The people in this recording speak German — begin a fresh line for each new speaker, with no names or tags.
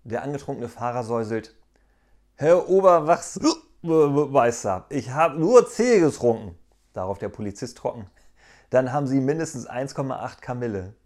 Der angetrunkene Fahrer säuselt: Herr Oberwachmeister, ich habe nur Tee getrunken. Darauf der Polizist trocken: Dann haben Sie mindestens 1,8 Kamille.